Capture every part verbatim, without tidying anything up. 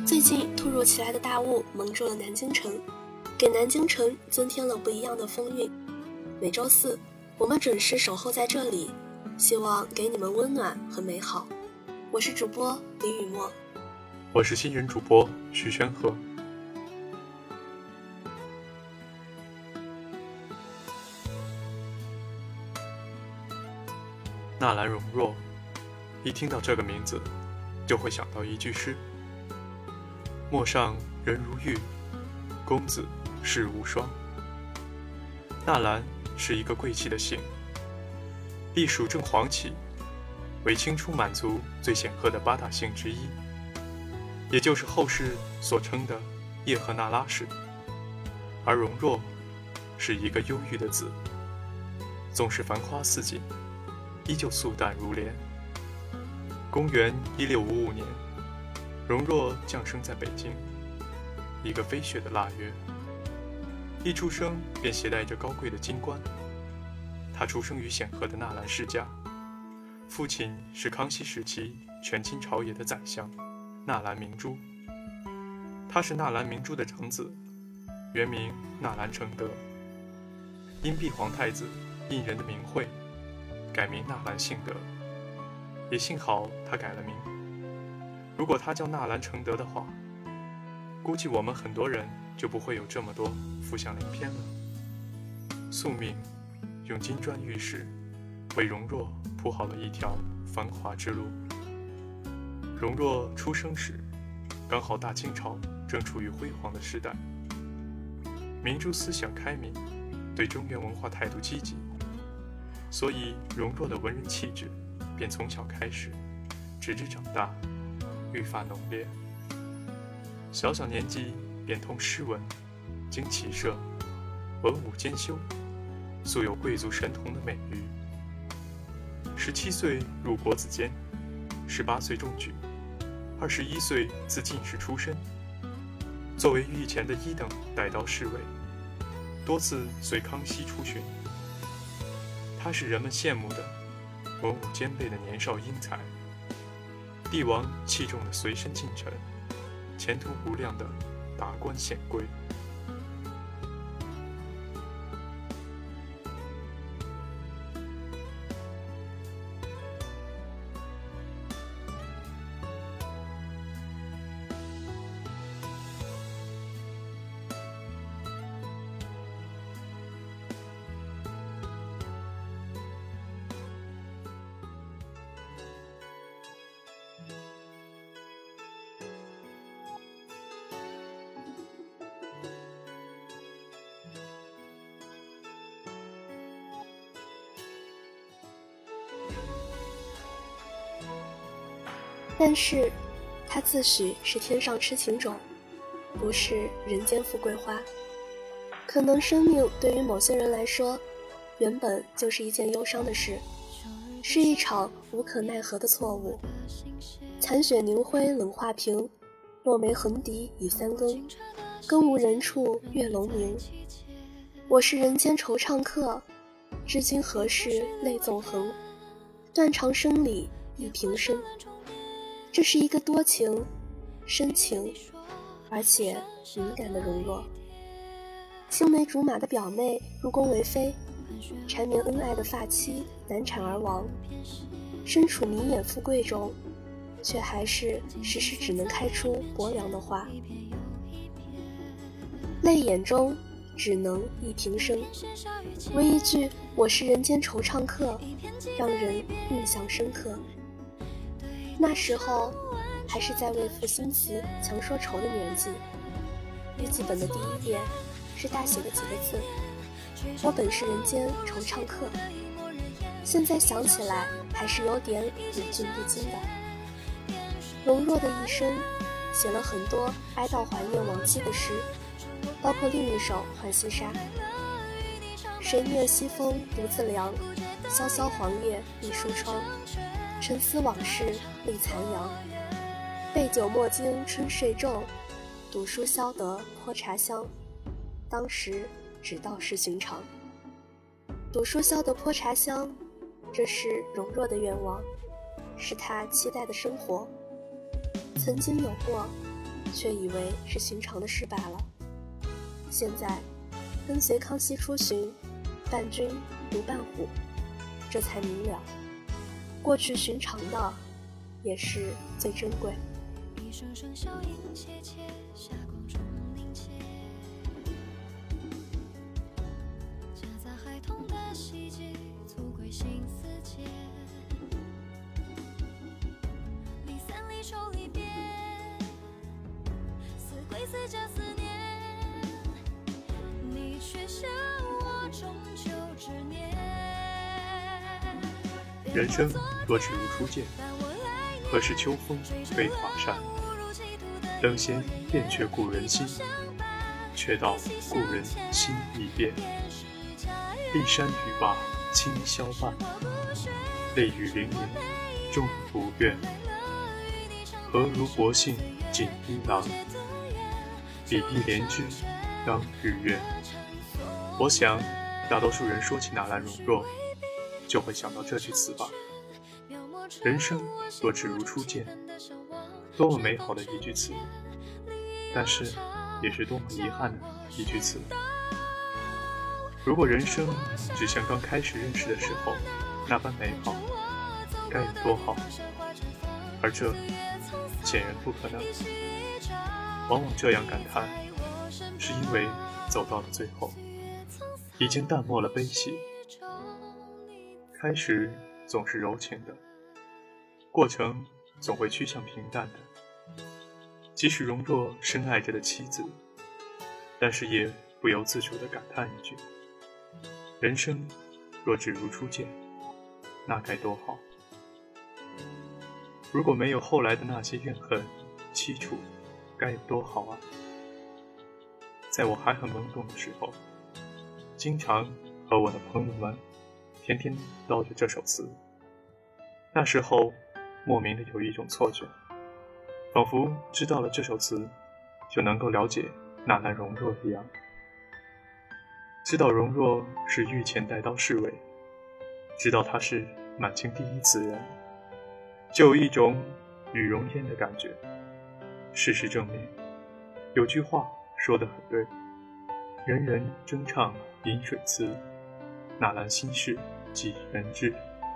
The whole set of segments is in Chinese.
最近突如其来的大雾蒙住了南京城，给南京城增添了不一样的风韵。每周四我们准时守候在这里，希望给你们温暖和美好。我是主播李雨墨， 我是新人主播徐宣鹤。纳兰容若，一听到这个名字就会想到一句诗：陌上人如玉，公子世无双。纳兰是一个贵气的姓，隶属正黄旗，为清初满族最显赫的八大姓之一，也就是后世所称的叶赫那拉氏。而容若是一个忧郁的字，纵是繁花似锦，依旧素淡如莲。公元一六五五年，容若降生在北京，一个飞雪的腊月。一出生便携带着高贵的金冠。他出生于显赫的纳兰世家，父亲是康熙时期权倾朝野的宰相纳兰明珠。他是纳兰明珠的长子，原名纳兰承德。因避皇太子胤仁的名讳，改名纳兰性德。也幸好他改了名，如果他叫纳兰承德的话，估计我们很多人就不会有这么多浮想联翩了。宿命用金砖玉石为容若铺好了一条繁华之路。容若出生时，刚好大清朝正处于辉煌的时代，明珠思想开明，对中原文化态度积极，所以容若的文人气质便从小开始，直至长大愈发浓烈。小小年纪便通诗文，经骑射，文武兼修，素有贵族神童的美誉。十七岁入国子监，十八岁中举，二十一岁自进士出身。作为御前的一等带刀侍卫，多次随康熙出巡。他是人们羡慕的文武兼备的年少英才，帝王器重的随身近臣，前途无量的达官显贵。 但是他自诩是天上痴情种，不是人间富贵花。可能生命对于某些人来说，原本就是一件忧伤的事，是一场无可奈何的错误。残雪凝辉冷画屏，落梅横笛已三更，更无人处月楼明。我是人间惆怅客，至今何事泪纵横，断肠声里一平生。这是一个多情、深情，而且敏感的容若。青梅竹马的表妹入宫为妃，缠绵恩爱的发妻难产而亡，身处名眼富贵中，却还是时时只能开出薄凉的花。泪眼中只能一平生，唯一句我是人间惆怅客，让人印象深刻。那时候还是在为赋新词强说愁的年纪，日记本的第一页是大写的几个字：我本是人间惆怅客。现在想起来还是有点忍俊不禁的。容若的一生写了很多哀悼怀念亡妻的诗，包括另一首《浣溪沙》：谁念西风独自凉，萧萧黄叶闭疏窗，沉思往事立残阳，备酒莫惊春睡皱，读书消得泼茶香。当时只道是寻常。读书消得泼茶香，这是容若的愿望，是他期待的生活。曾经有过， 却以为是寻常的事罢了。现在跟随康熙出巡，伴君如伴虎，这才明了，过去寻常的也是最珍贵。一声声笑音切切，霞光中凝结，夹杂孩童的希冀，促归心似结。离散离愁离别，似归似家思念，你却笑我终究执念。 人生若只如初见，何事秋风悲华扇？等闲变却故人心，却道故人心易变。骊山语罢清宵半，泪雨霖铃终不怨。何如薄幸锦衣郎，比翼连枝当日月。我想大多数人说起纳兰容若，就会想到这句词吧。人生若只如初见，多么美好的一句词，但是也是多么遗憾的一句词。如果人生只像刚开始认识的时候那般美好，该有多好，而这显然不可能。往往这样感叹，是因为走到了最后，已经淡漠了悲喜。开始总是柔情的，过程总会趋向平淡的。即使容若深爱着的妻子，但是也不由自主地感叹一句：人生若只如初见，那该多好。如果没有后来的那些怨恨凄楚，该有多好啊。在我还很懵懂的时候，经常和我的朋友们天天唠着这首词。那时候莫名的有一种错觉，仿佛知道了这首词就能够了解纳兰容若一样。知道容若是御前带刀侍卫，知道她是满清第一词人，就有一种与容焉的感觉。事实证明，有句话说得很对，人人争唱饮水词，纳兰心事几人知。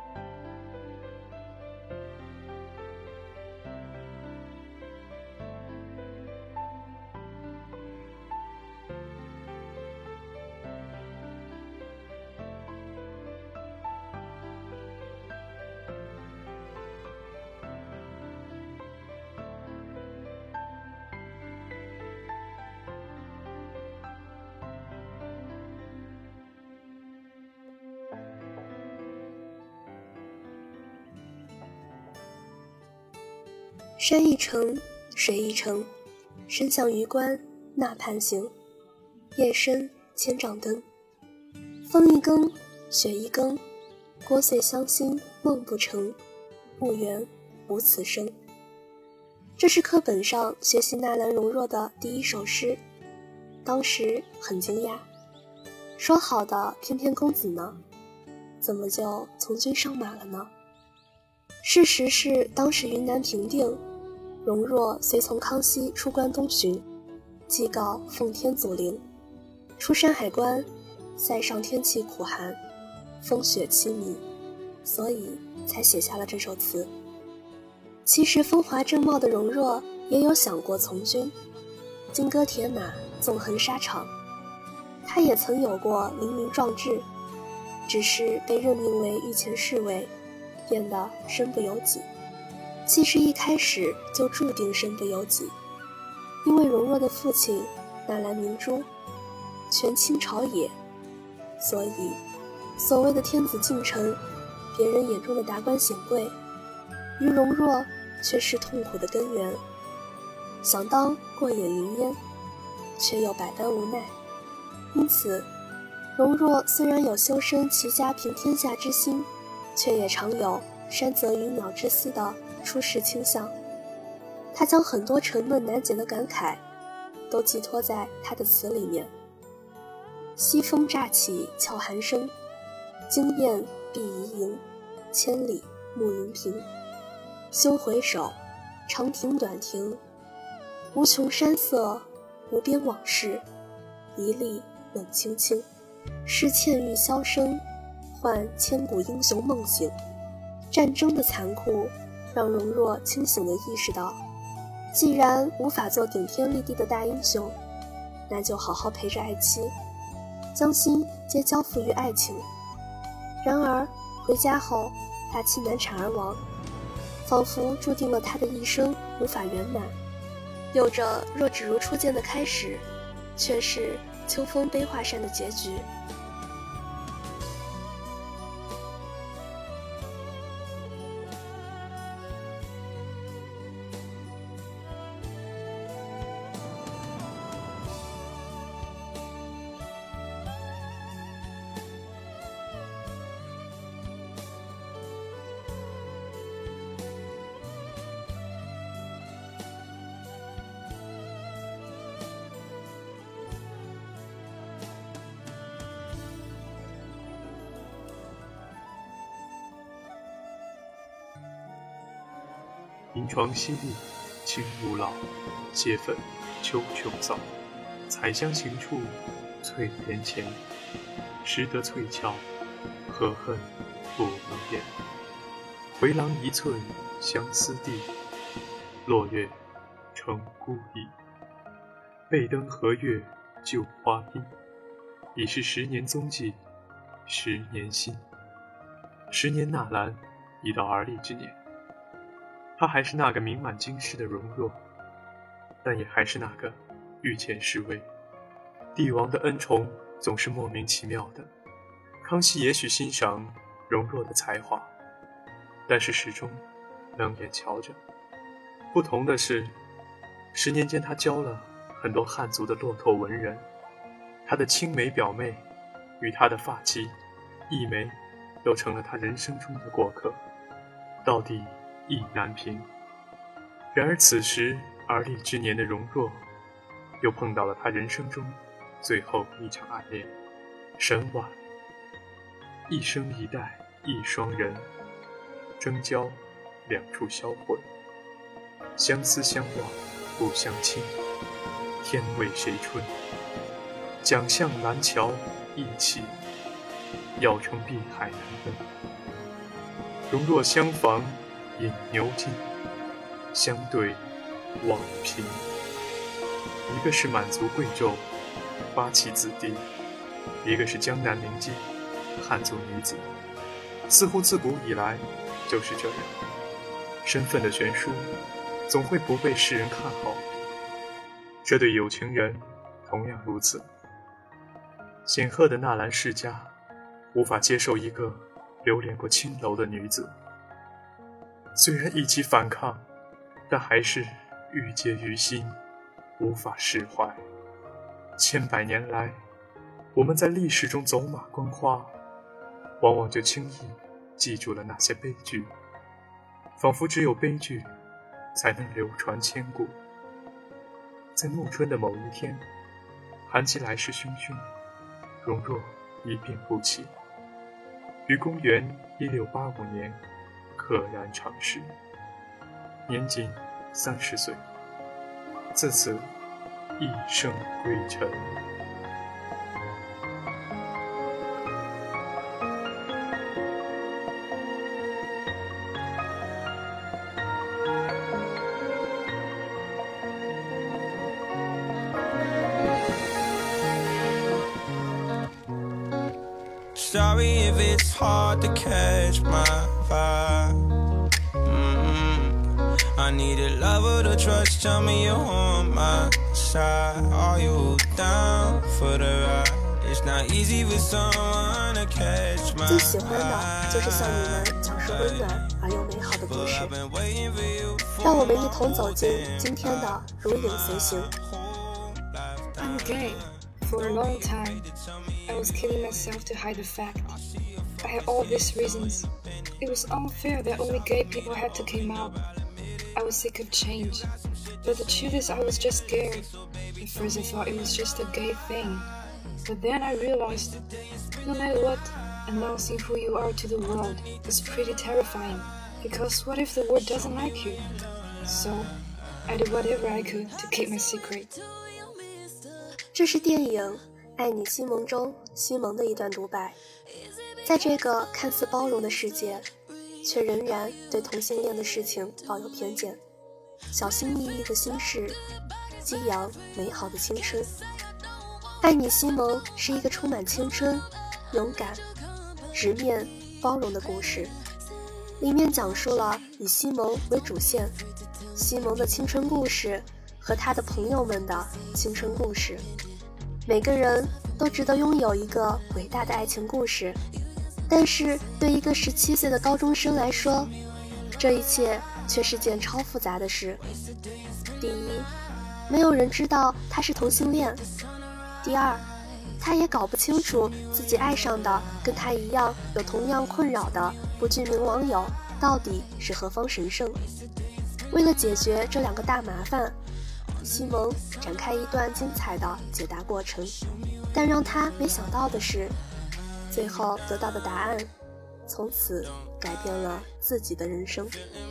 山一程，水一程，身向榆关那畔行。夜深千帐灯，风一更，雪一更，聒碎乡心梦不成，婺源无此声。这是课本上学习纳兰容若的第一首诗，当时很惊讶，说好的翩翩公子呢？怎么就从军上马了呢？事实是当时云南平定，容若随从康熙出关东巡，祭告奉天祖陵，出山海关，塞上天气苦寒，风雪凄迷，所以才写下了这首词。其实风华正茂的容若也有想过从军，金戈铁马，纵横沙场，他也曾有过凌云壮志，只是被任命为御前侍卫，变得身不由己。其实一开始就注定身不由己，因为容若的父亲纳兰明珠权倾朝野，所以所谓的天子近臣，别人眼中的达官显贵，于容若却是痛苦的根源。想当过眼云烟，却又百般无奈。因此容若虽然有修身齐家平天下之心，却也常有山泽鱼鸟之思的出世倾向。他将很多沉闷难解的感慨都寄托在他的词里面。西风乍起悄寒声，惊雁闭移营，千里暮云平。休回首，长亭短亭， 无穷山色，无边往事，一粒冷清清，是倩玉箫声，唤千古英雄梦醒。战争的残酷让容若清醒地意识到，既然无法做顶天立地的大英雄，那就好好陪着爱妻，将心皆交付于爱情。然而回家后，大妻难产而亡，仿佛注定了他的一生无法圆满。有着若只如初见的开始，却是秋风悲画扇的结局。 银床淅沥，青如老，蟹粉秋琼扫。采香行处，翠帘前。识得翠翘，何恨不能言。回廊一寸相思地，落月成孤倚。背灯和月旧花衣，已是十年踪迹，十年心。十年纳兰，已到而立之年。她还是那个名满京师的容若，但也还是那个御前侍卫。帝王的恩宠总是莫名其妙的。康熙也许欣赏容若的才华，但是始终冷眼瞧着。不同的是，十年间他教了很多汉族的落拓文人，他的青梅表妹与他的发妻一枚都成了他人生中的过客，到底意难平。然而此时而立之年的容若，又碰到了他人生中最后一场暗恋。神晚，一生一代一双人，争交两处销魂。相思相望不相亲，天为谁春？蒋向蓝桥一起，要成碧海难分。容若相逢饮牛津，相对望平。一个是满族贵胄八旗子弟，一个是江南名妓汉族女子，似乎自古以来就是这样。身份的悬殊总会不被世人看好，这对有情人同样如此。显赫的纳兰世家无法接受一个流连过青楼的女子，虽然一起反抗，但还是郁结于心，无法释怀。千百年来，我们在历史中走马观花，往往就轻易记住了那些悲剧，仿佛只有悲剧才能流传千古。在暮春的某一天，寒气来势汹汹，容若一病不起，于公元一六八五年溘然长逝，年仅三十岁，自此一生归尘。 Sorry if it's hard to catch my vibe. Mm-hmm. I need a lover to trust. Tell me you're on my side. Are you down for the ride? It's not easy for someone to catch my vibe. 最喜欢的就是向你们讲述温暖而又美好的故事，让我们一同走进今天的如影随形。 I'm gay. For a long time, I was killing myself to hide the fact. I had all these reasons. It was unfair that only gay people had to come out. I was sick of change. But the truth is I was just scared. At first I thought it was just a gay thing. But then I realized, no matter what, announcing who you are to the world is pretty terrifying. Because what if the world doesn't like you? So, I did whatever I could to keep my secret. 这是电影《爱你西蒙》中西蒙的一段独白。在这个看似包容的世界，却仍然对同性恋的事情抱有偏见，小心翼翼的心事，激扬美好的青春。爱你西蒙是一个充满青春、勇敢、直面、包容的故事，里面讲述了以西蒙为主线，西蒙的青春故事和他的朋友们的青春故事。每个人都值得拥有一个伟大的爱情故事，但是对一个十七岁的高中生来说，这一切却是件超复杂的事。第一，没有人知道他是同性恋；第二，他也搞不清楚自己爱上的跟他一样有同样困扰的不具名网友到底是何方神圣。为了解决这两个大麻烦，西蒙展开一段精彩的解答过程，但让他没想到的是，最后得到的答案从此改变了自己的人生。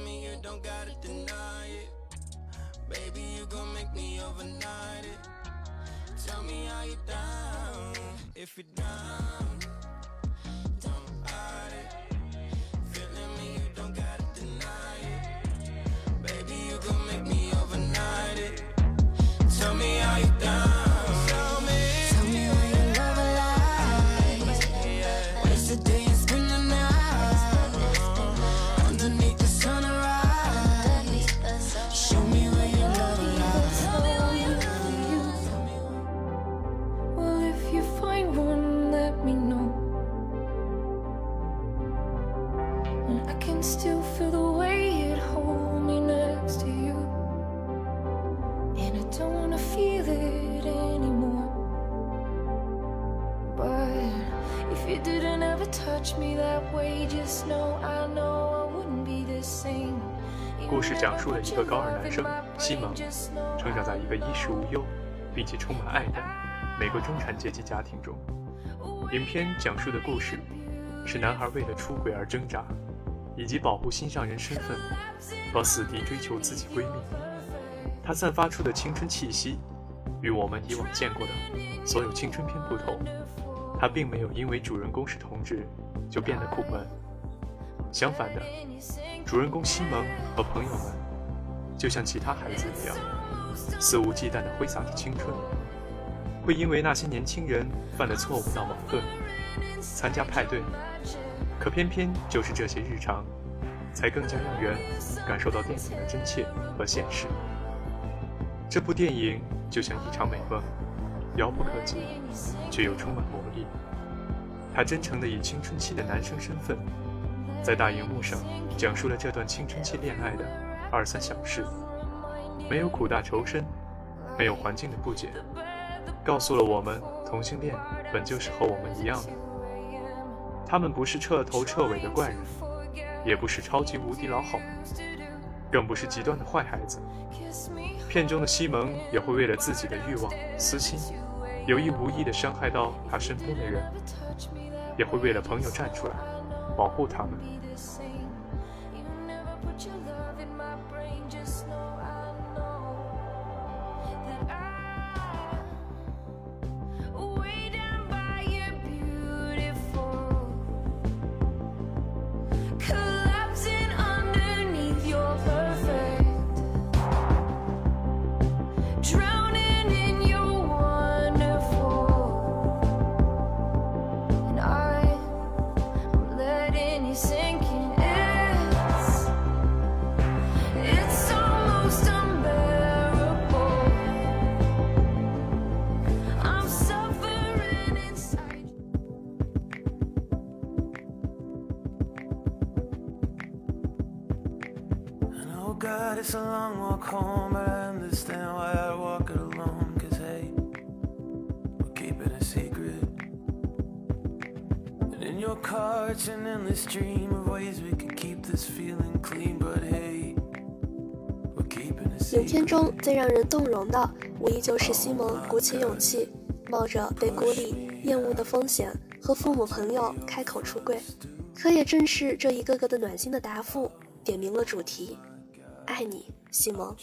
Still feel the way it hold me next to you, and I don't wanna feel it anymore. But if you didn't ever touch me that way, just know I know I wouldn't be the same. 故事讲述了一个高二男生西蒙成长在一个衣食无忧并且充满爱的美国中产阶级家庭中。影片讲述的故事是男孩为了出轨而挣扎，以及保护心上人身份而死地追求自己闺蜜。她散发出的青春气息与我们以往见过的所有青春片不同，她并没有因为主人公是同志就变得苦闷。相反的，主人公西蒙和朋友们就像其他孩子一样，肆无忌惮地挥洒着青春，会因为那些年轻人犯的错误闹矛盾，参加派对。可偏偏就是这些日常，才更加让人感受到电影的真切和现实。这部电影就像一场美梦，遥不可及，却又充满魔力。它真诚地以青春期的男生身份，在大荧幕上讲述了这段青春期恋爱的二三小事，没有苦大仇深，没有环境的不解，告诉了我们同性恋本就是和我们一样的。他们不是彻头彻尾的怪人，也不是超级无敌老好，更不是极端的坏孩子。片中的西蒙也会为了自己的欲望、私心，有意无意地伤害到他身边的人，也会为了朋友站出来，保护他们。 God, it's a long walk home, but I understand why I walk it alone. Cause hey, we're keeping a secret. And in your car, it's an endless stream of ways we can keep this feeling clean. But hey, we're keeping a secret. 影片中最让人动容的，无疑就是西蒙鼓起勇气，冒着被孤立、厌恶的风险，和父母朋友开口出柜。可也正是这一个个的暖心的答复，点明了主题。爱你，西蒙。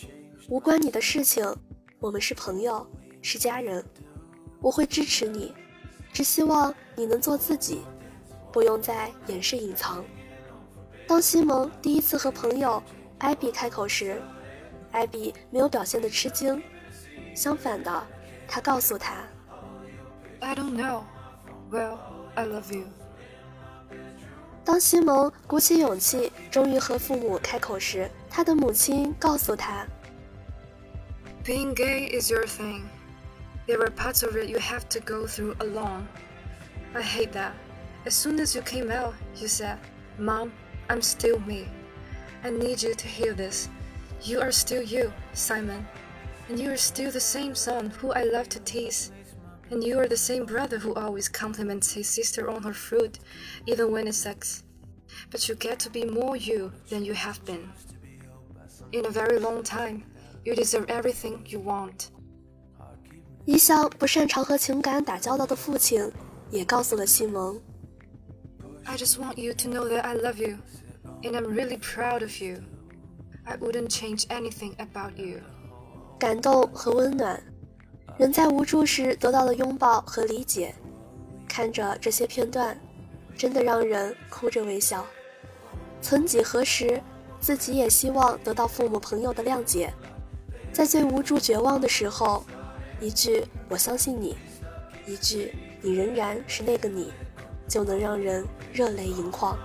无关你的事情，我们是朋友，是家人，我会支持你，只希望你能做自己，不用再掩饰隐藏。当西蒙第一次和朋友艾比开口时，艾比没有表现得吃惊，相反的，他告诉他 I don't know. Well, I love you. 当西蒙鼓起勇气终于和父母开口时，他的母亲告诉他 Being gay is your thing. There are parts of it you have to go through alone. I hate that. As soon as you came out, you said, Mom, I'm still me. I need you to hear this. You are still you, Simon. And you are still the same son who I love to tease. And you are the same brother who always compliments his sister on her fruit, even when it sucks. But you get to be more you than you have been. In a very long time, you deserve everything you want. 一向不擅长和情感打交道的父亲也告诉了西蒙 I just want you to know that I love you, and I'm really proud of you. I wouldn't change anything about you. 感动和温暖，人在无助时得到的拥抱和理解，看着这些片段，真的让人哭着微笑。曾几何时，自己也希望得到父母朋友的谅解，在最无助绝望的时候，一句我相信你，一句你仍然是那个你，就能让人热泪盈眶。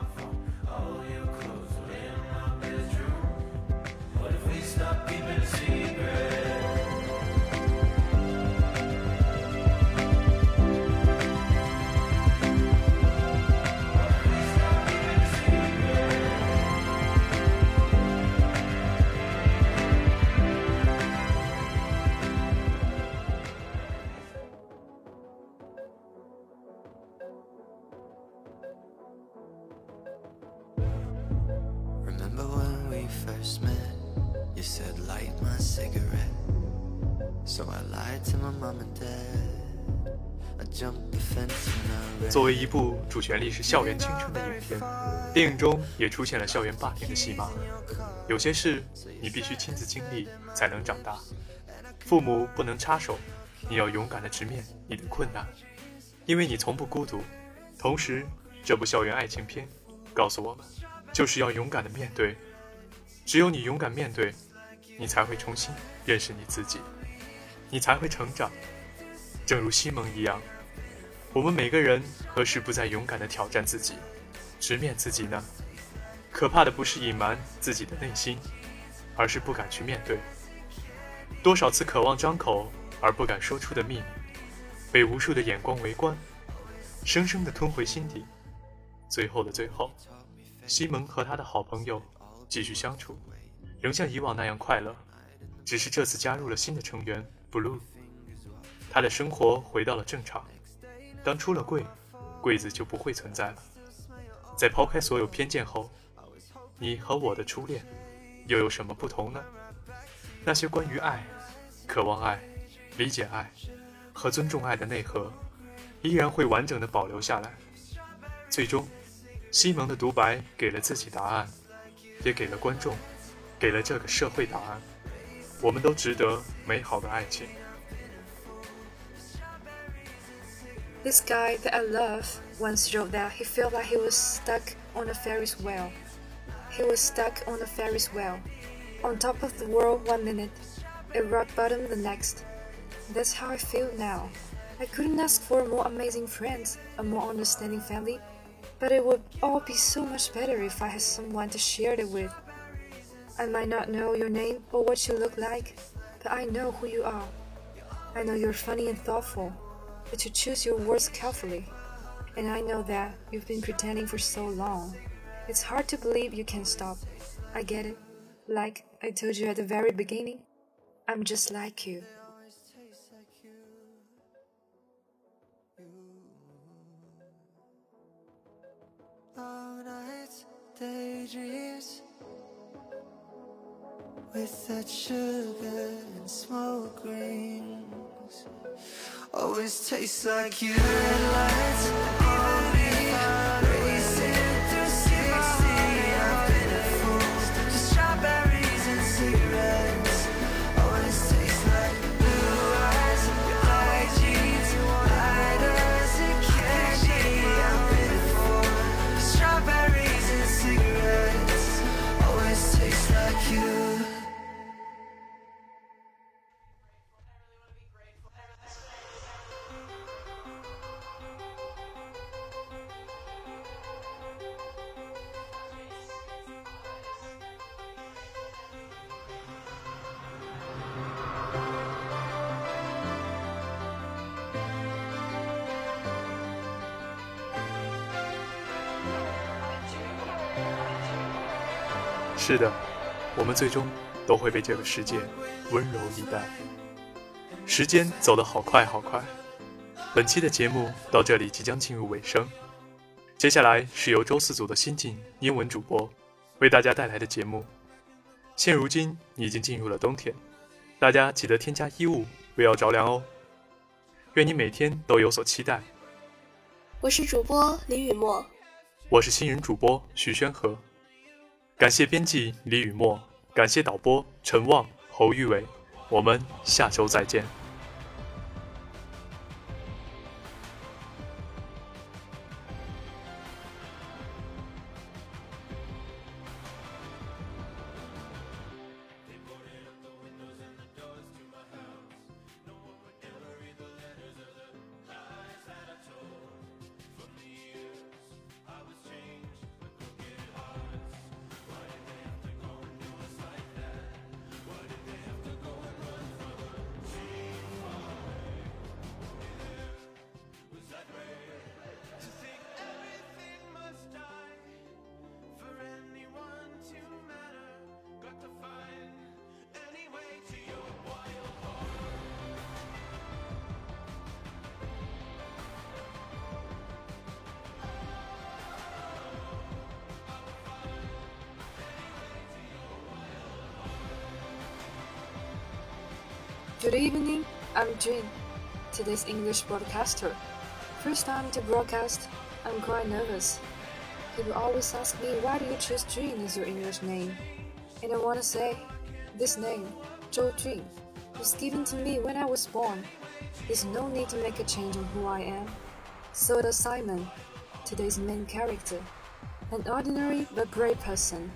Remember when we first met? You said light my cigarette. So I lied to my mom and dad. I jumped the fence when I read. 作为一部主旋律是校园青春的影片，电影中也出现了校园霸凌的戏码。有些事你必须亲自经历才能长大，父母不能插手，你要勇敢地直面你的困难，因为你从不孤独。同时，这部校园爱情片告诉我们，就是要勇敢地面对，只有你勇敢面对，你才会重新认识你自己，你才会成长。正如西蒙一样，我们每个人何时不再勇敢地挑战自己，直面自己呢？可怕的不是隐瞒自己的内心，而是不敢去面对。多少次渴望张口而不敢说出的秘密，被无数的眼光围观，生生地吞回心底。最后的最后，西蒙和他的好朋友继续相处，仍像以往那样快乐，只是这次加入了新的成员 Blue。 他的生活回到了正常，当出了柜，柜子就不会存在了。在抛开所有偏见后，你和我的初恋又有什么不同呢？那些关于爱、渴望爱、理解爱和尊重爱的内核，依然会完整地保留下来。最终，西蒙的独白给了自己答案，也给了观众，给了这个社会答案。我们都值得美好的爱情。 This guy that I love once wrote that he felt like he was stuck on a Ferris wheel. He was stuck on a Ferris wheel, on top of the world one minute, at rock bottom the next. That's how I feel now. I couldn't ask for more amazing friends, a more understanding family, but it would all be so much better if I had someone to share it with. I might not know your name or what you look like, but I know who you are. I know you're funny and thoughtful, but you choose your words carefully. And I know that you've been pretending for so long. It's hard to believe you can stop. I get it. Like I told you at the very beginning, I'm just like you. Long nights, daydreams, with that sugar and smoke rings, always tastes like you. Red lights on me, racing through sixty. I've been a fool to strawberries and cigarettes. 是的，我们最终都会被这个世界温柔以待。时间走得好快好快，本期的节目到这里即将进入尾声。接下来是由周四组的新晋英文主播为大家带来的节目。现如今已经进入了冬天，大家记得添加衣物，不要着凉哦。愿你每天都有所期待。 我是主播李雨墨， 我是新人主播徐宣和。感谢编辑李雨墨，感谢导播陈旺、侯玉伟。我们下周再见。 Good evening, I'm Jin, today's English broadcaster. First time to broadcast, I'm quite nervous. People always ask me, why do you choose Jin as your English name? And I want to say, this name, Zhou Jun, was given to me when I was born. There's no need to make a change on who I am. So does Simon, today's main character, an ordinary but brave person.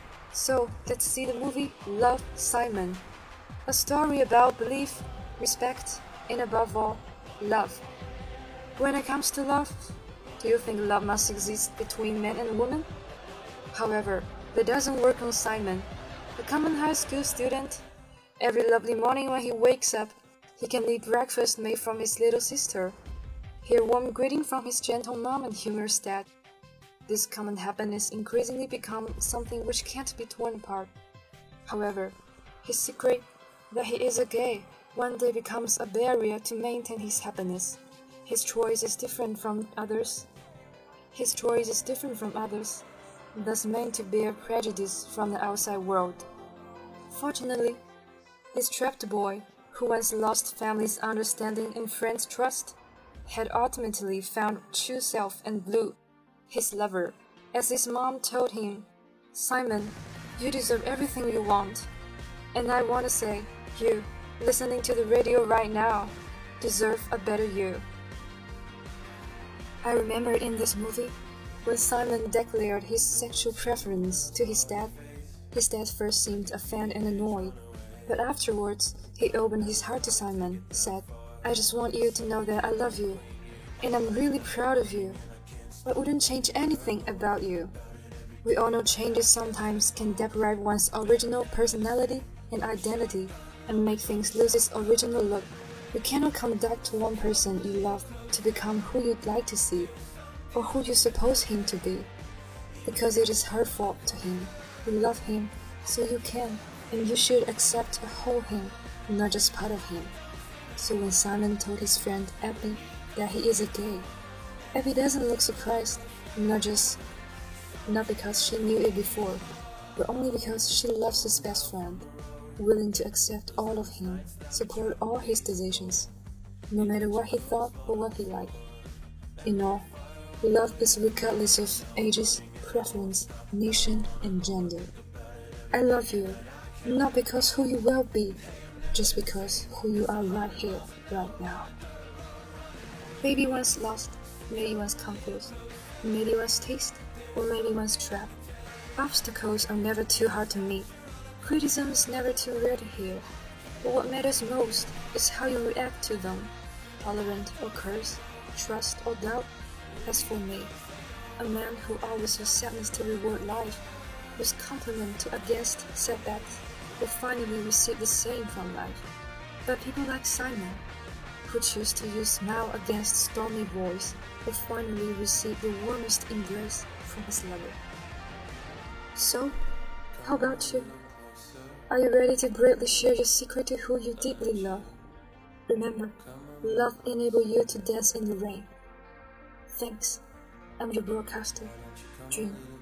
So let's see the movie Love, Simon. A story about belief, respect, and above all, love. When it comes to love, do you think love must exist between man and woman? However, that doesn't work on Simon, a common high school student. Every lovely morning when he wakes up, he can eat breakfast made from his little sister, hear warm greeting from his gentle mom and humorous dad. This common happiness increasingly becomes something which can't be torn apart. However, his secret that he is a gay one day becomes a barrier to maintain his happiness. His choice is different from others. His choice is different from others, thus meant to bear prejudice from the outside world. Fortunately, this trapped boy, who once lost family's understanding and friends' trust, had ultimately found true self and Blue, his lover. As his mom told him, "Simon, you deserve everything you want. And I want to say, you, listening to the radio right now, deserve a better you." I remember in this movie, when Simon declared his sexual preference to his dad, his dad first seemed offended and annoyed, but afterwards, he opened his heart to Simon, said, "I just want you to know that I love you, and I'm really proud of you. I wouldn't change anything about you." We all know changes sometimes can deprive one's original personality and identity and make things lose its original look. You cannot come back to one person you love to become who you'd like to see, or who you suppose him to be, because it is her fault to him. You love him, so you can, and you should accept a whole him, not just part of him. So when Simon told his friend Abby that he is a gay, Abby doesn't look surprised, not just not because she knew it before, but only because she loves his best friend, willing to accept all of him, support all his decisions, no matter what he thought or what he liked. In all, love is regardless of ages, preference, nation, and gender. I love you, not because who you will be, just because who you are right here, right now. Maybe one's lost, maybe one's confused, maybe one's taste, or maybe one's trapped. Obstacles are never too hard to meet. Criticism is never too rare to hear. But what matters most is how you react to them. Tolerant or curse, trust or doubt. As for me, a man who always used sadness to reward life, whose compliment to against setbacks, will finally receive the same from life. But people like Simon, who choose to use smile against stormy voice, will finally receive the warmest embrace from his lover. So, How about you? Are you ready to bravely share your secret to who you deeply love? Remember, love enables you to dance in the rain. Thanks. I'm your broadcaster, June.